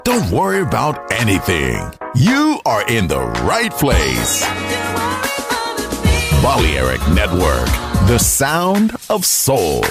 Don't worry about anything. You are in the right place. Balearic Network, the sound of soul.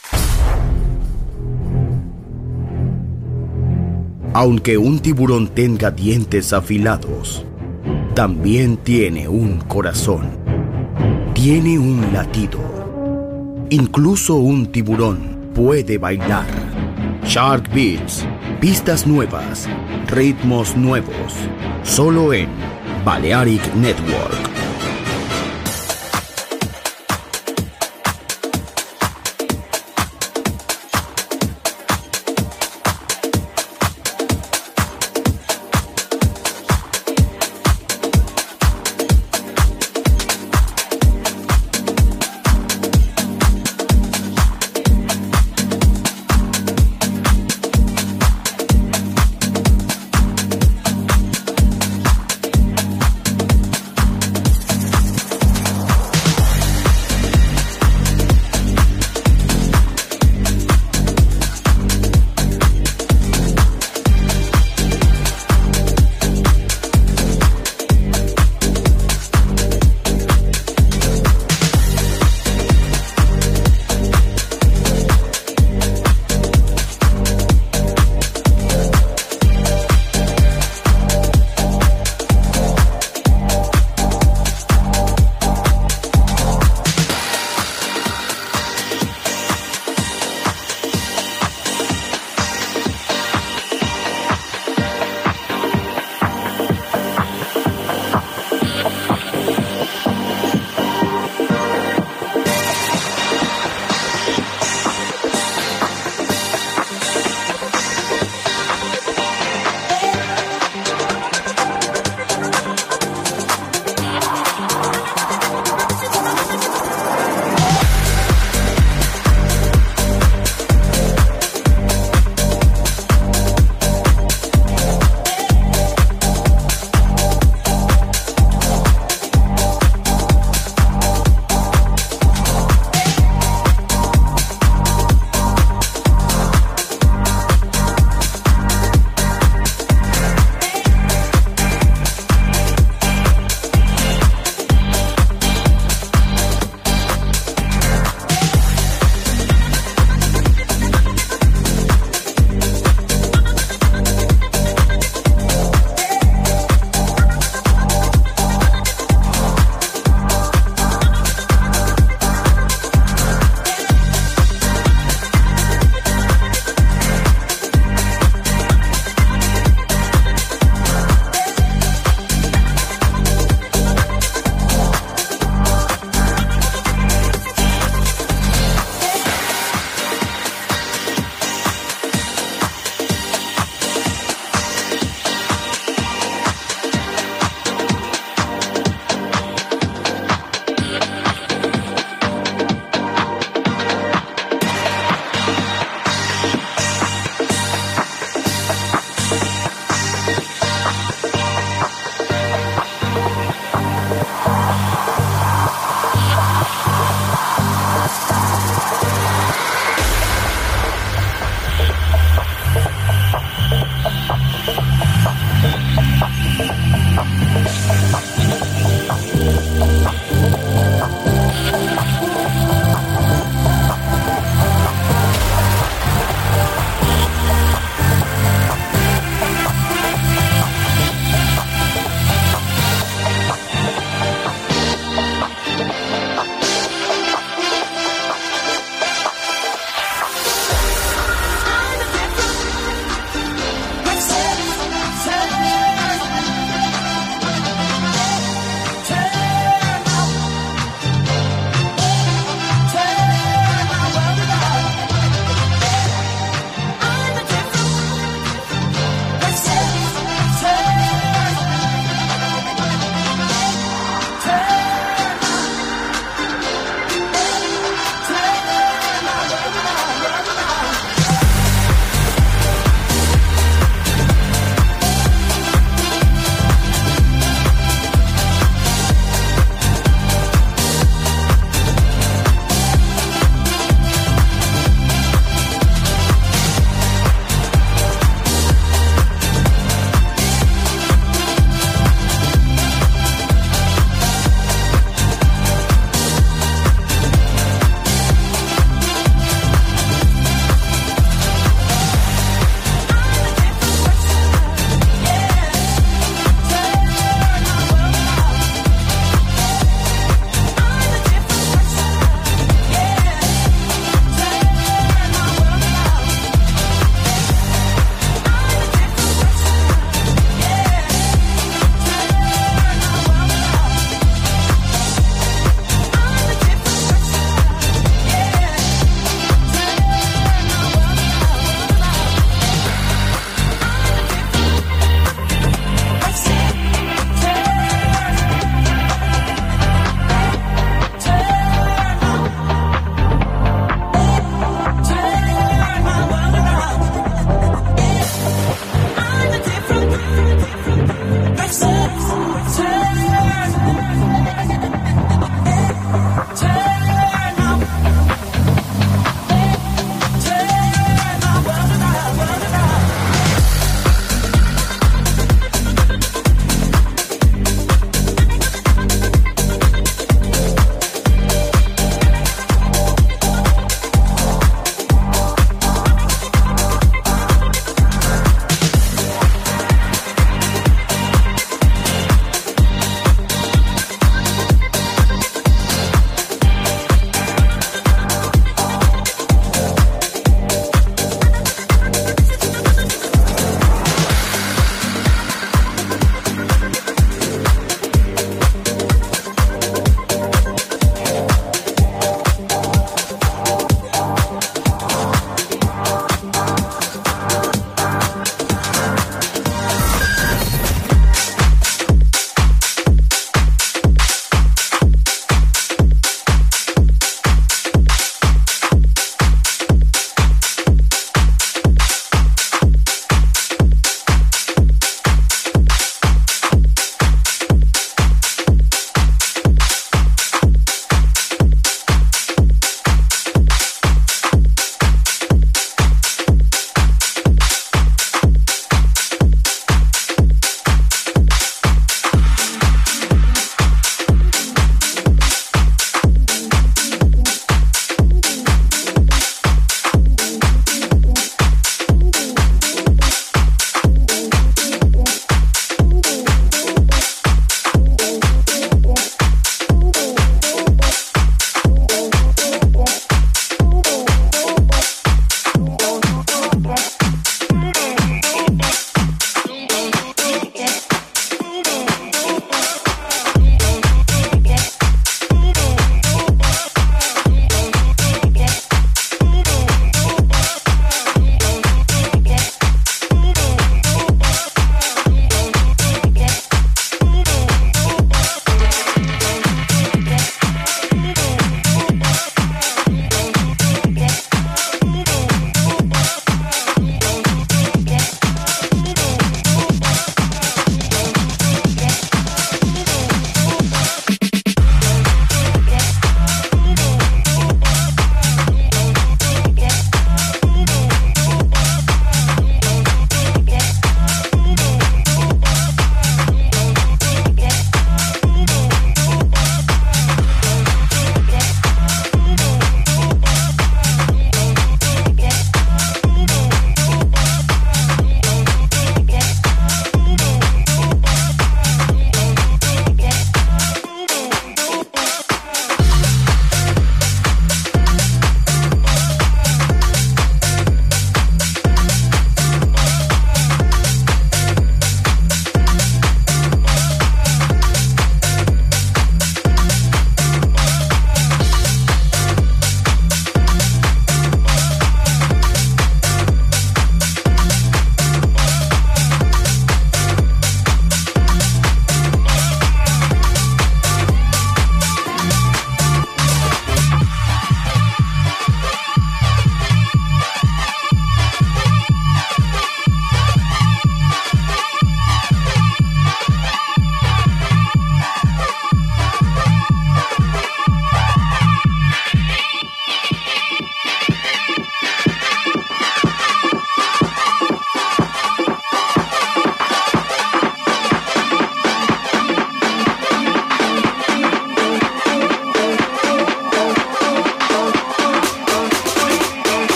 Aunque un tiburón tenga dientes afilados, también tiene un corazón. Tiene un latido. Incluso un tiburón puede bailar. Shark Beats, pistas nuevas, ritmos nuevos, solo en Balearic Network.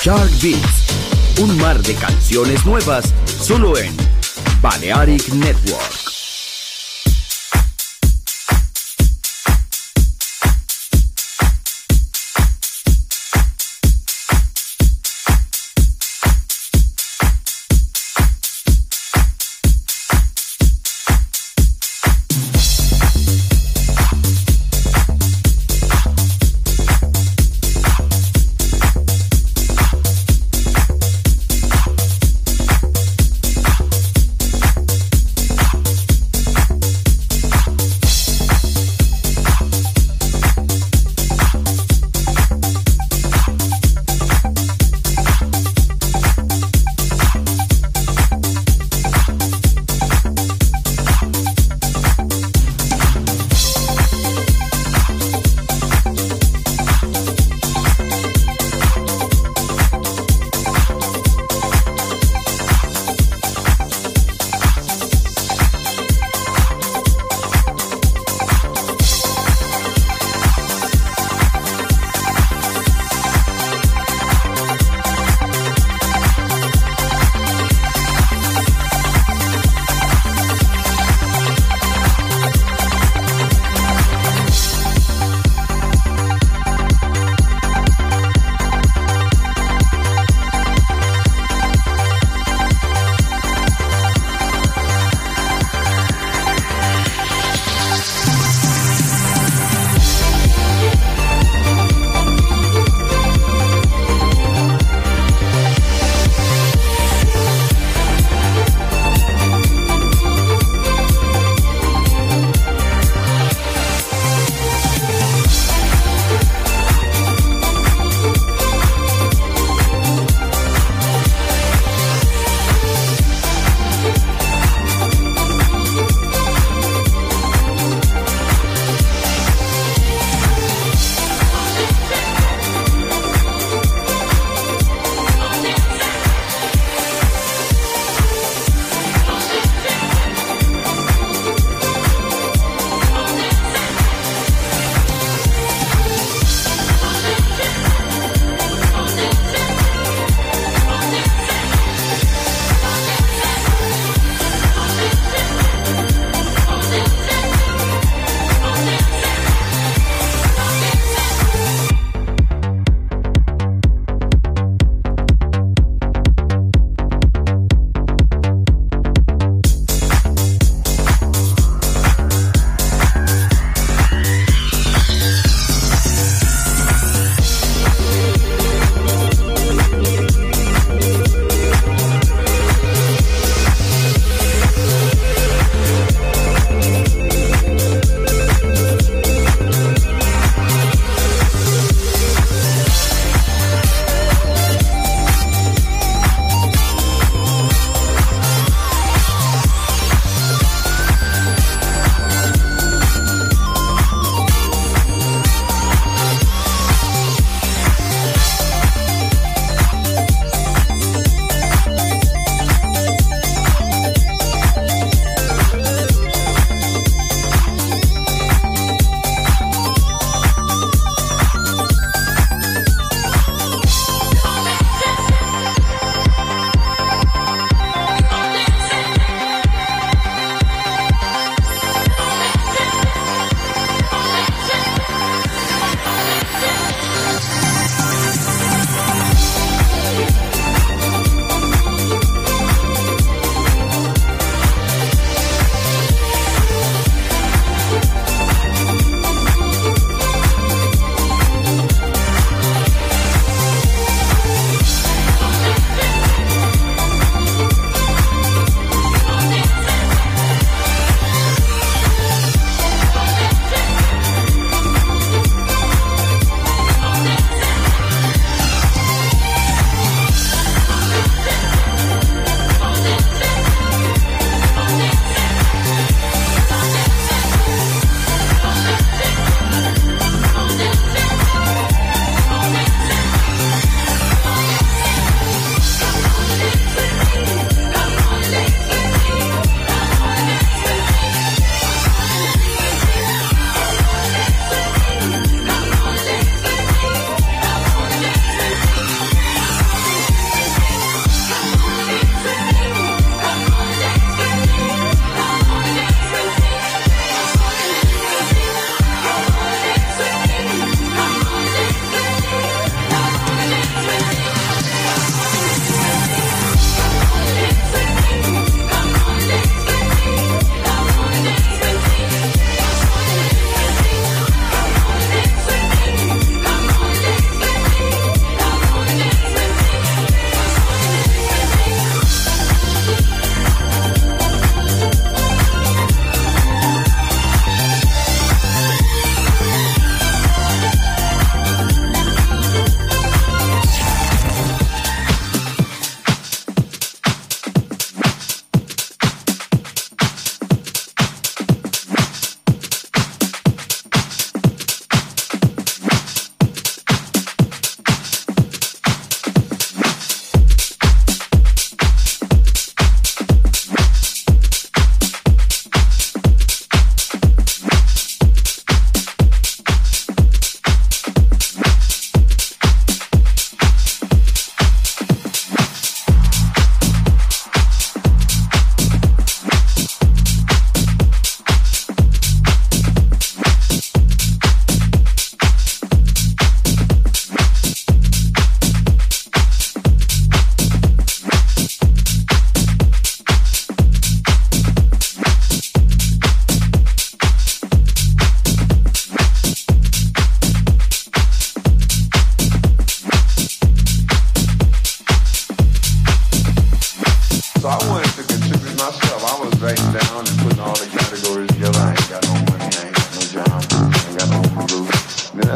Shark Beats, un mar de canciones nuevas solo en Balearic Network.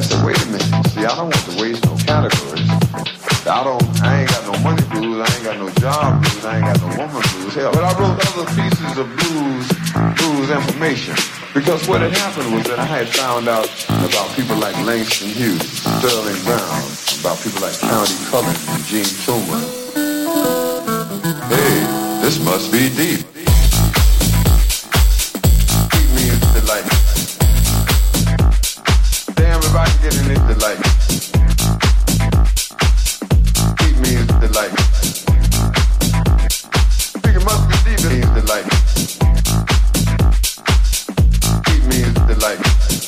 said, wait a minute. See, I don't want to waste no categories. I ain't got no money blues, I ain't got no job blues, I ain't got no woman blues. Hell, but I wrote other pieces of blues information. Because what had happened was that I had found out about people like Langston Hughes, Sterling Brown, about people like County Cullen and Gene Truman. Hey, this must be deep. Keep me in the light. Damn, if I can get in the light. Keep me in the light. Think it must be deep in the light. Keep me in the light.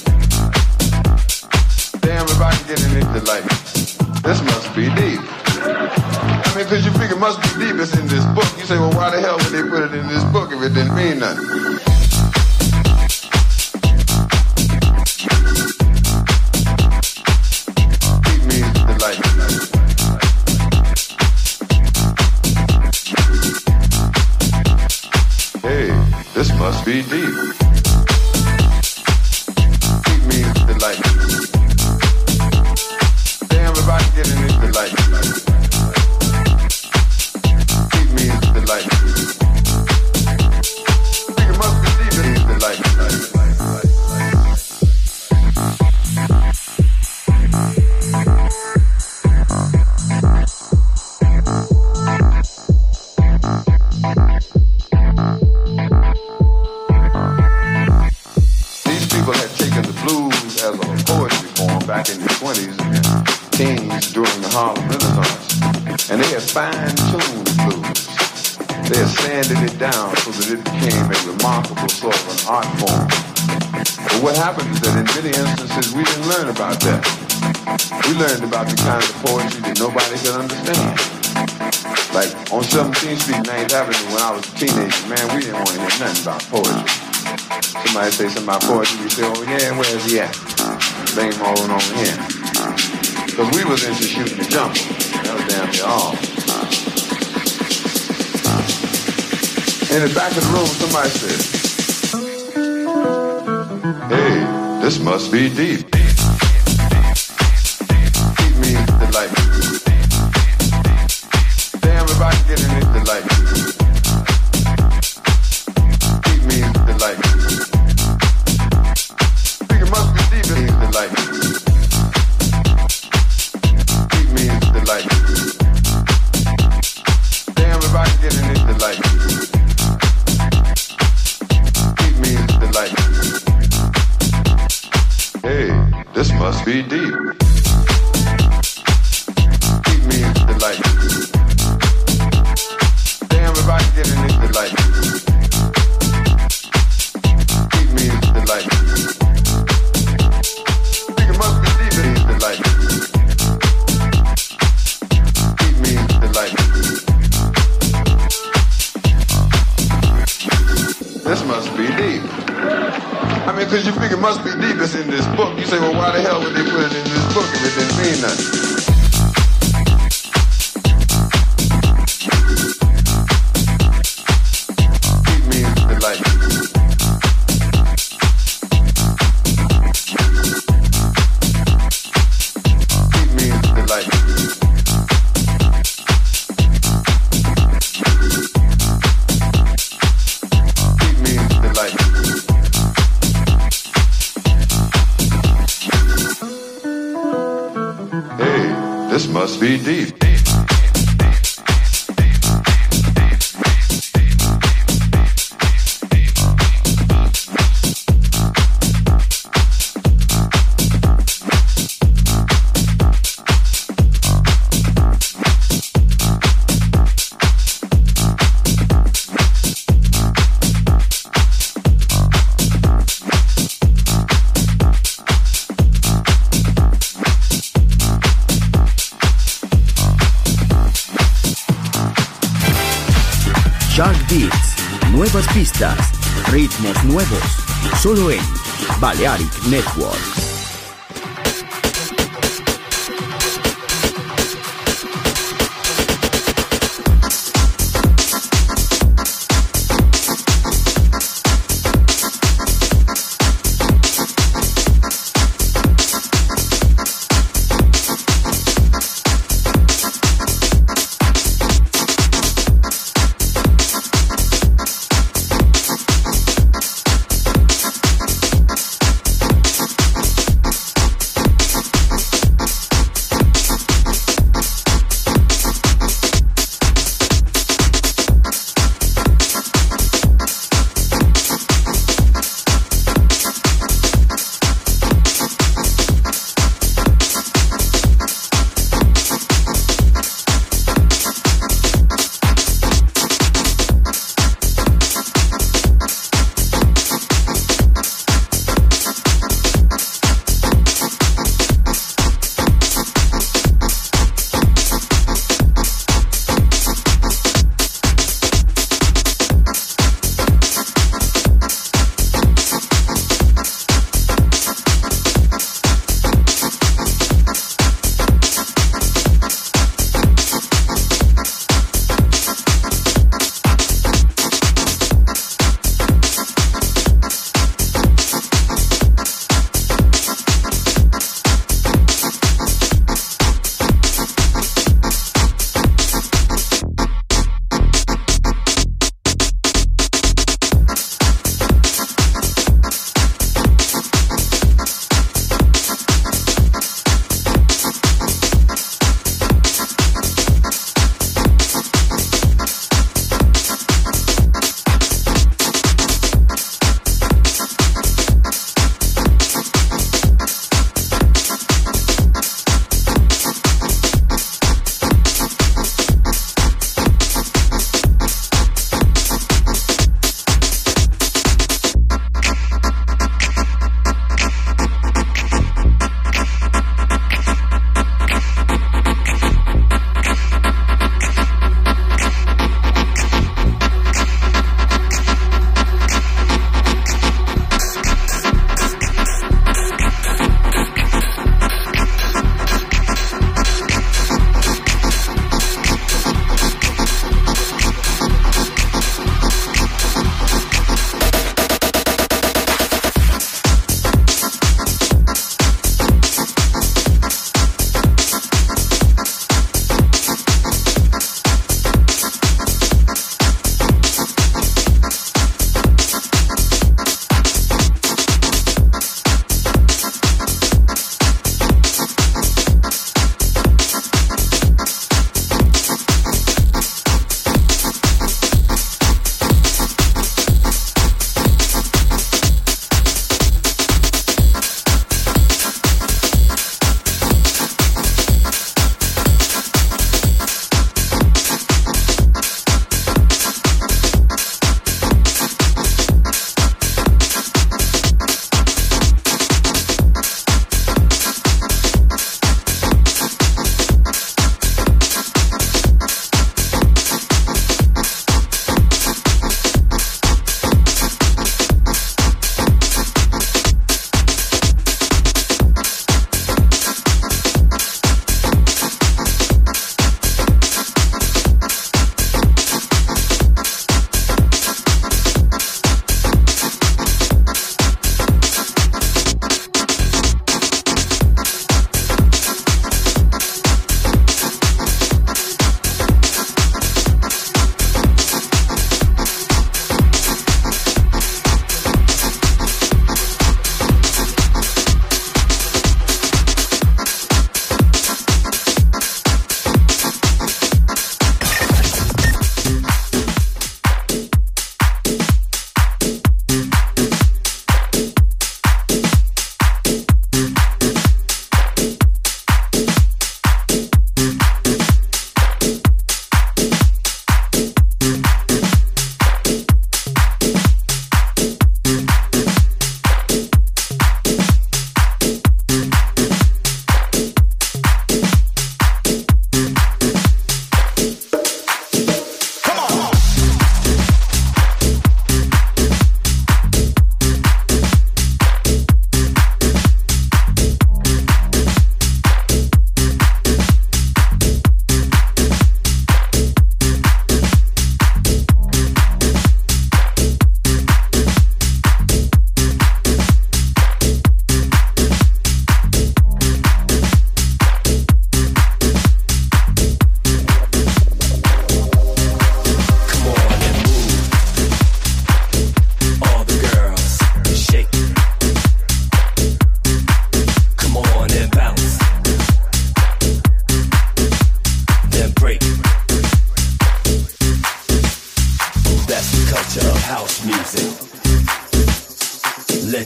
Damn, if I can get in the light. This must be deep. I mean, cause you figure it must be deep, it's in this book. You say, well, why the hell would they put it in this book if it didn't mean nothing? Keep me in the light. Hey, this must be deep. Keep me in the light. Damn, if I can get in the light. Keep me in the light. I think it must be deep in the light. These people had taken the blues as a poetry form back in the 20s and teens during the Harlem Renaissance. And they had fine-tuned the blues. They had sanded it down so that it became a remarkable sort of an art form. But what happened is that in many instances we didn't learn about that. We learned about the kind of poetry that nobody could understand. Like on 17th Street, 9th Avenue, when I was a teenager, man, we didn't want to hear nothing about poetry. Somebody say something about poetry, we say, oh yeah, where's he at? Blame rolling over here. Because we was into shooting the jumper. That was damn near all. In the back of the room, somebody said, hey, this must be deep. Keep me in the light. Damn, if I can get in the light. Keep me in the light. I think it must be deep in the light. Keep me in the light. Damn, if I can get in the light. Keep me in the light. Hey, this must be deep. Keep me in the light. Damn, if I can get in the light. Keep me in the light. I think it must be deep in the light. Keep me in the light. This must be deep. I mean, cause you figure it must be deep, it's in this book. You say, well, why the hell would they put it in this book if it didn't mean nothing? Must be deep. Shark Beats, nuevas pistas, ritmos nuevos, solo en Balearic Network.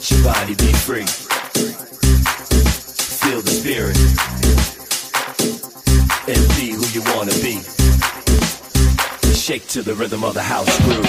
Let your body be free. Feel the spirit. And be who you wanna be. Shake to the rhythm of the house groove.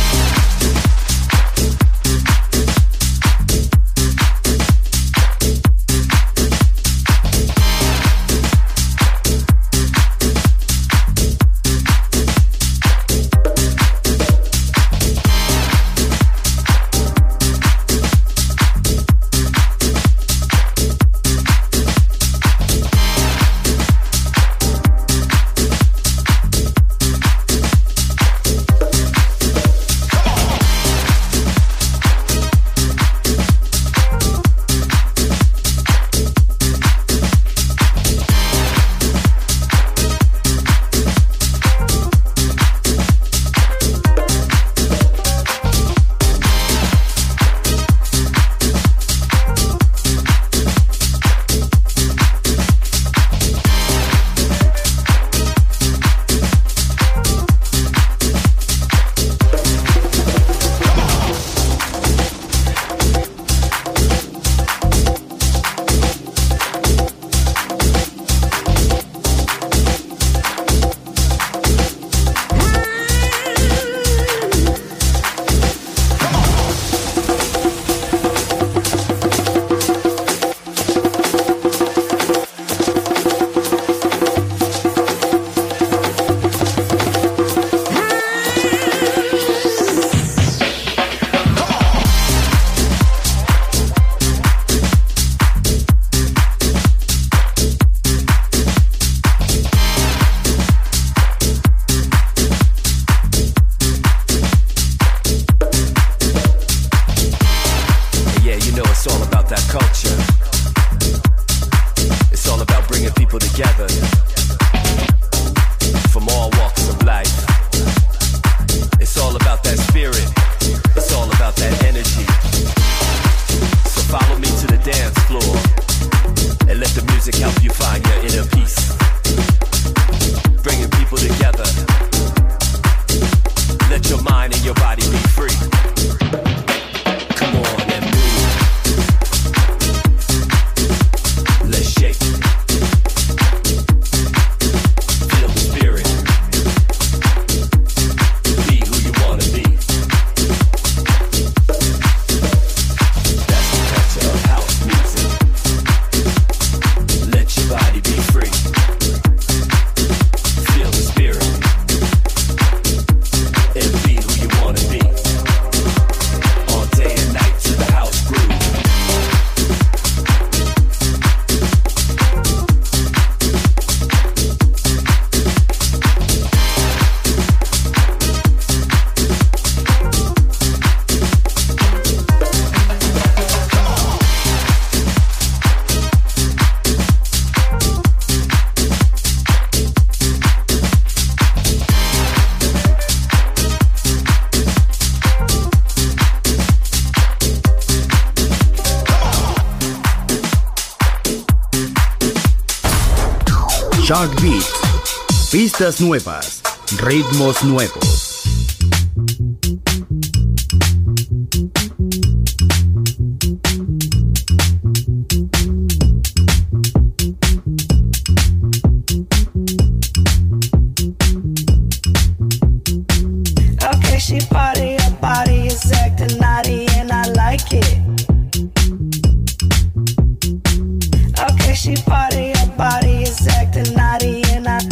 Shark Beat. Pistas nuevas, ritmos nuevos. Okay, she party, her body is acting naughty and I like it. Okay, she party, her body is acting naughty and I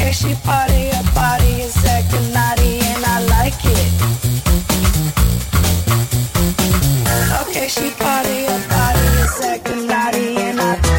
Okay, she party, her body is acting naughty and I like it. Okay, she party, her body is acting naughty and I like it.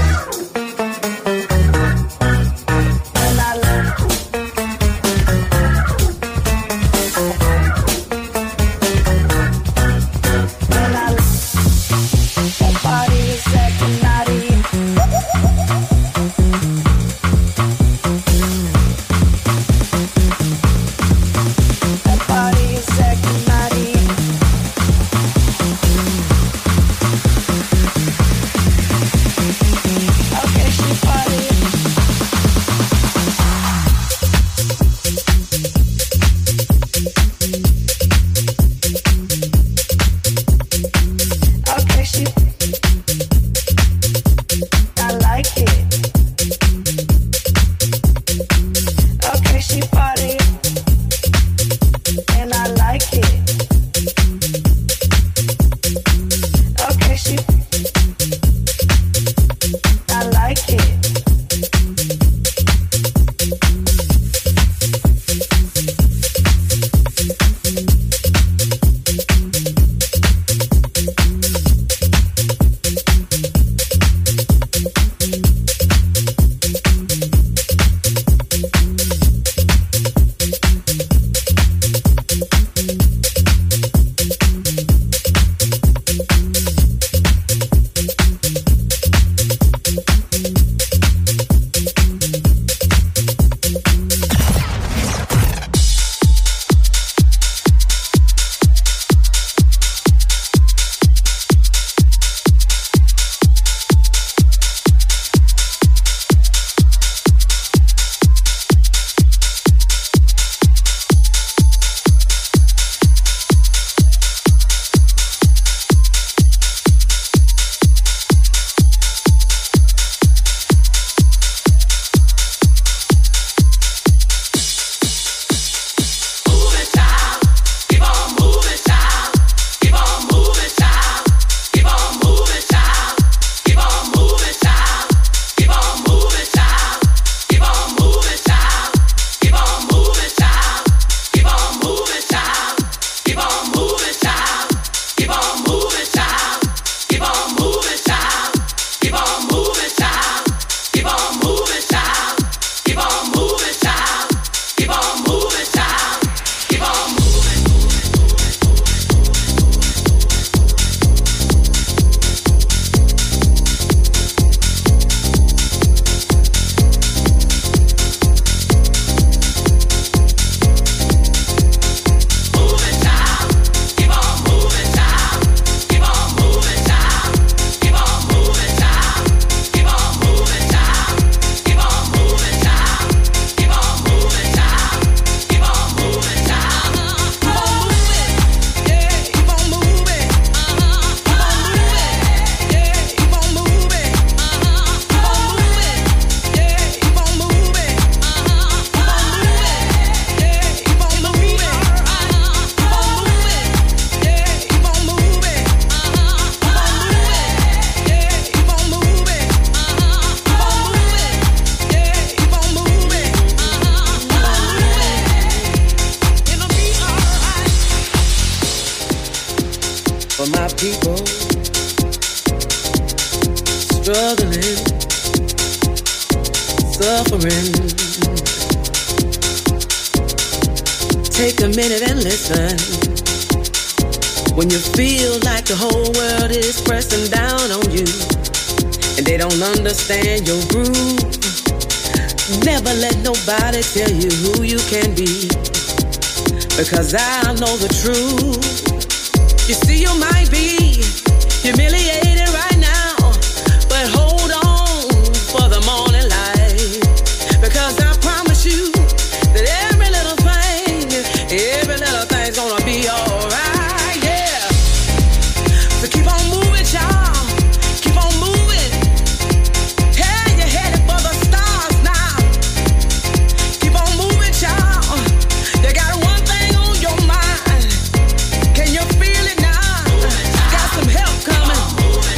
Take a minute and listen. When you feel like the whole world is pressing down on you and they don't understand your groove, never let nobody tell you who you can be, because I know the truth. You see, you might be humiliated right now, but hold on for the morning light, because I promise you that every little thing's gonna be alright, yeah. So keep on moving, y'all. Keep on moving. Hey, you're headed for the stars now. Keep on moving, y'all. You got one thing on your mind. Can you feel it now? Got some help coming.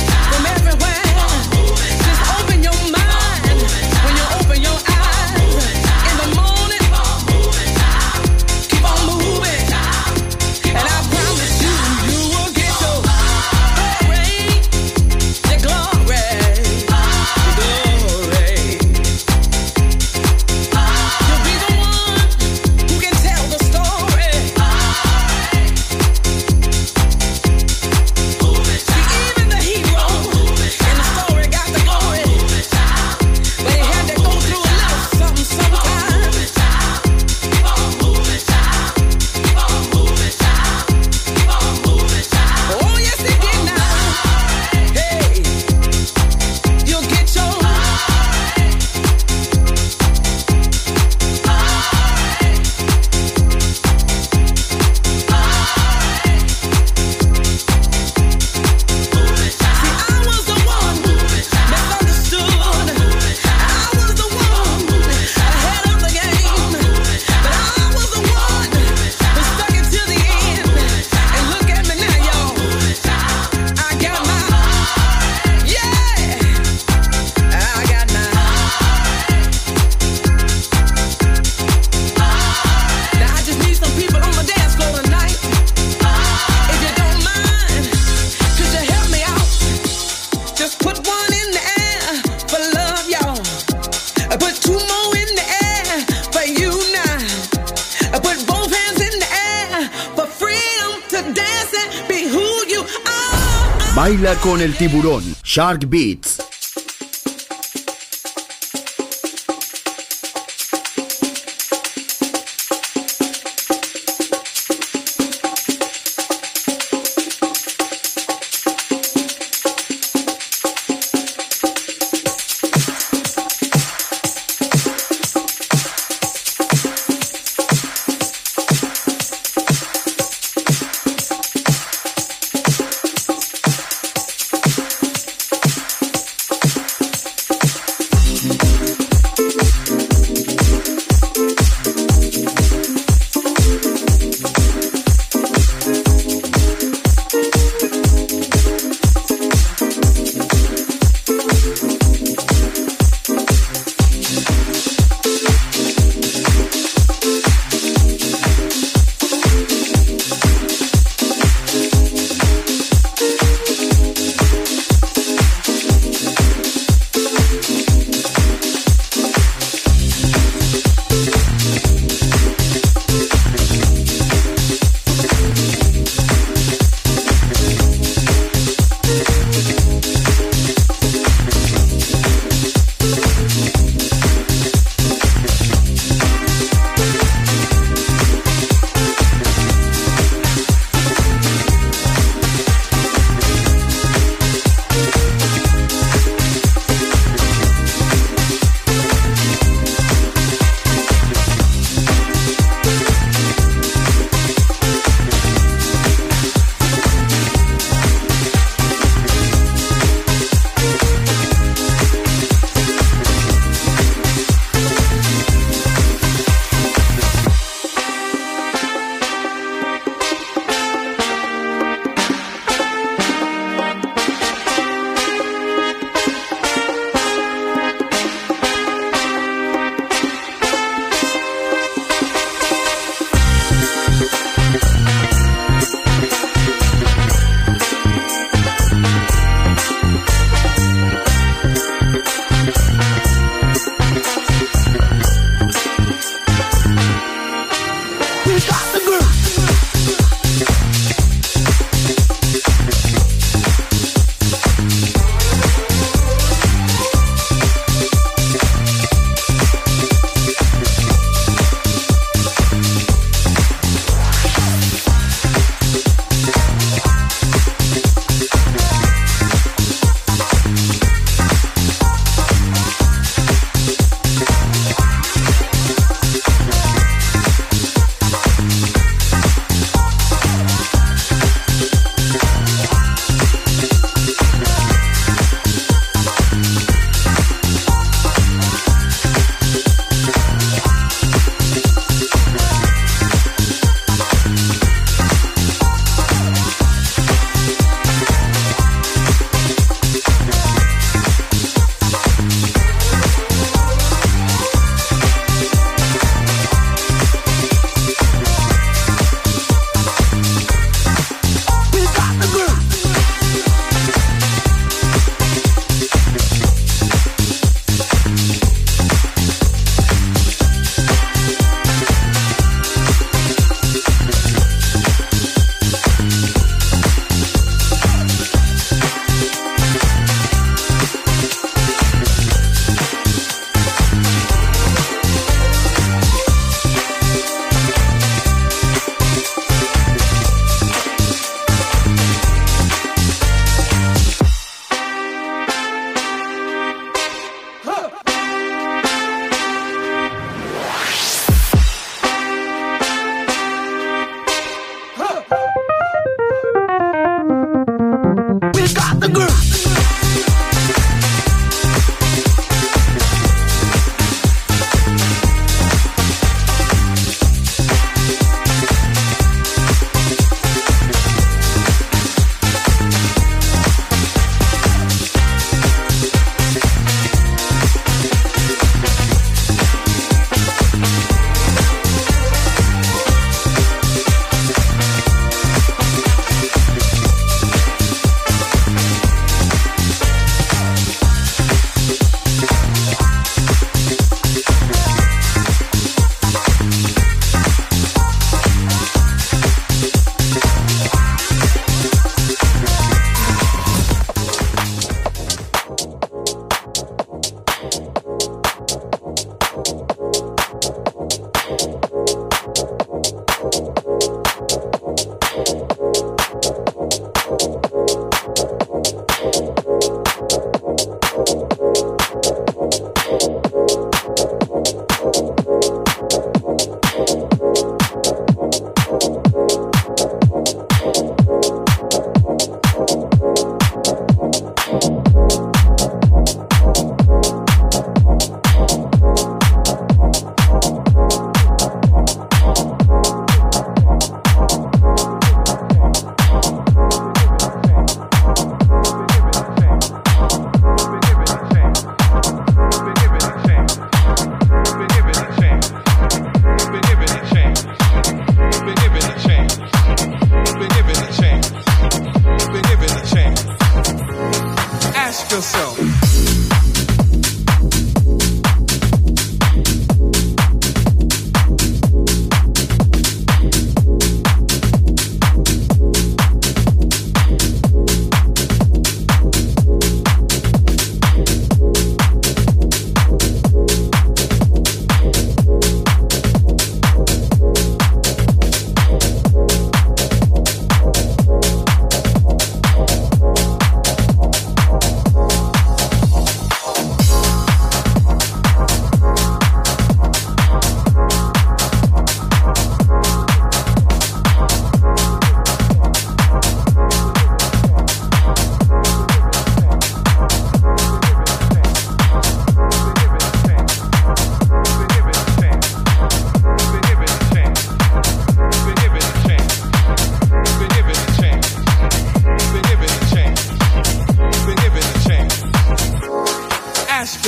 Baila con el tiburón, Shark Beats.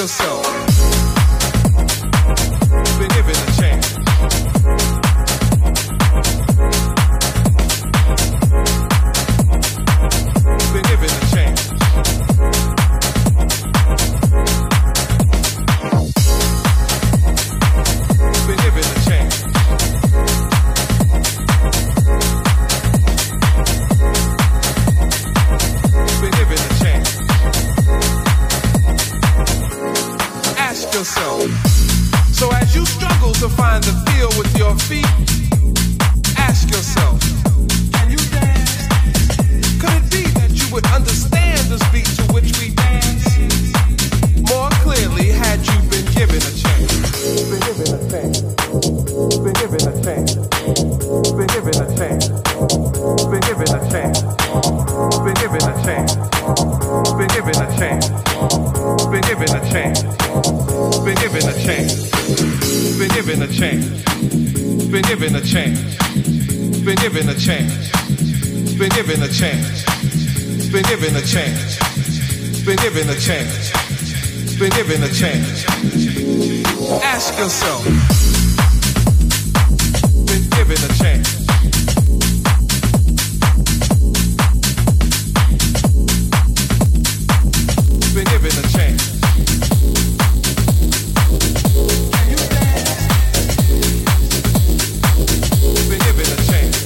yourself. Been given a chance. Been given a chance. Been given a chance. Been given a chance. Ask yourself. So as you struggle to find the feel with your feet, ask yourself, can you dance? Could it be that you would understand the beat to which we dance more clearly had you been given a chance? Been given a chance. Been given a chance. Been given a chance. Been given a chance. Been given a chance. Been given a chance. Been given a chance. Been given a chance. Been given a chance. Been given a chance. Been given a chance. Been given a chance. Been given a chance. Been given a chance. Been given a chance. Ask yourself. Been given a chance. Been given a chance. Can you dance? Been given a chance.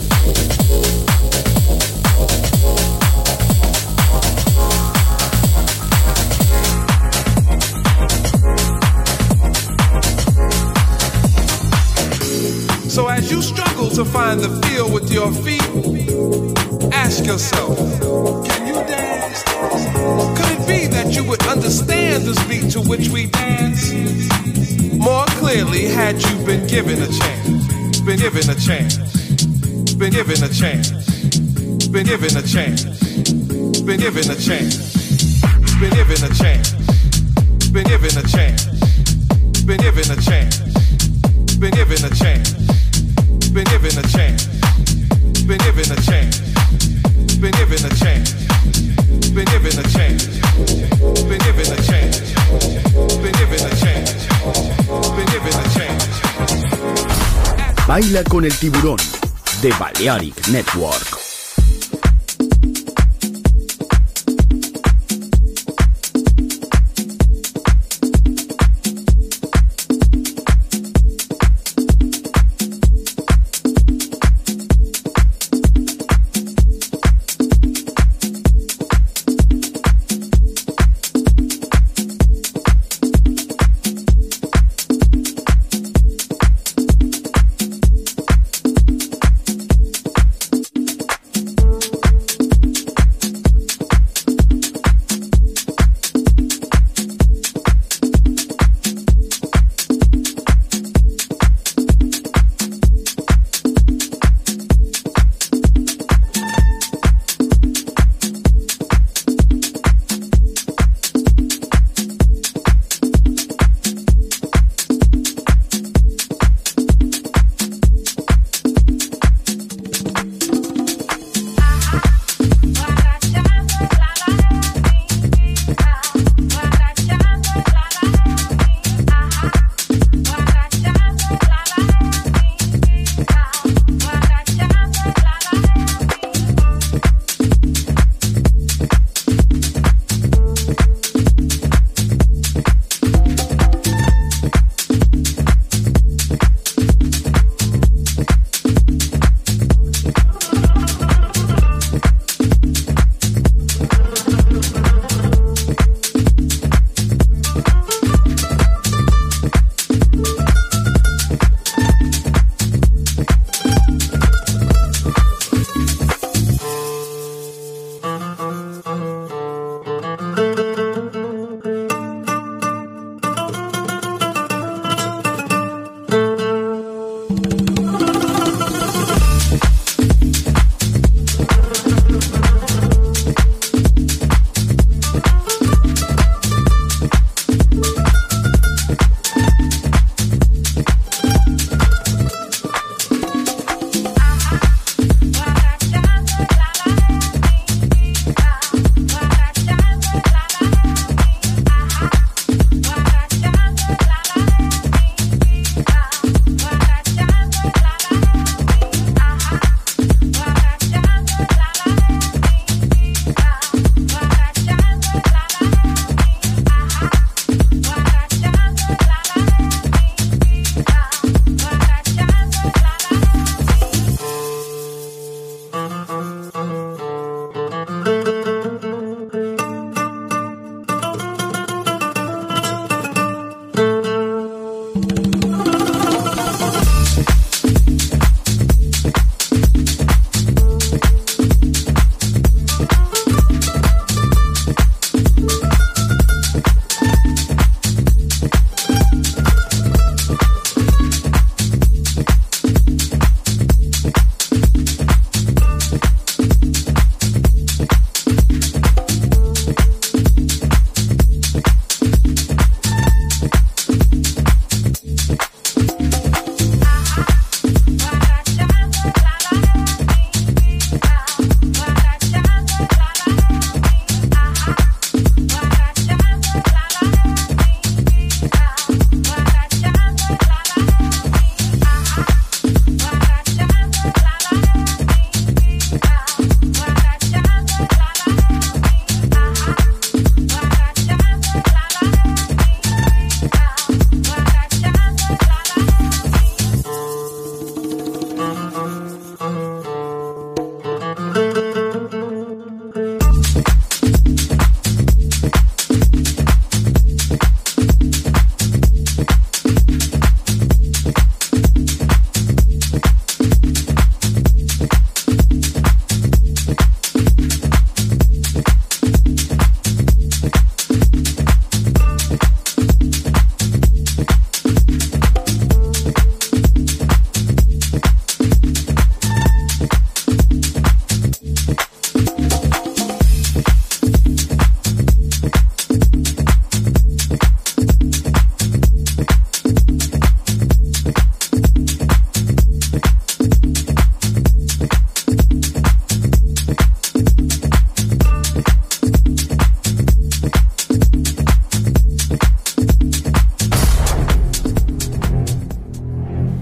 So as you struggle to find the feel with your feet, ask yourself, can you dance? Could it be that you would understand the beat to which we dance more clearly had you been given a chance? Been given a chance. Been given a chance. Been given a chance. Been given a chance. Been given a chance. Been given a chance. Been given a chance. Been given a chance. Been given a chance. Been given a chance. Been given a chance. Been given a chance. Been given a chance. Been given a chance. Been given a chance. Baila con el tiburón de Balearic Network.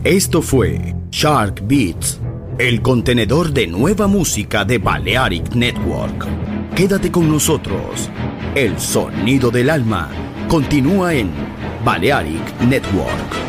Esto fue Shark Beats, el contenedor de nueva música de Balearic Network. Quédate con nosotros. El sonido del alma continúa en Balearic Network.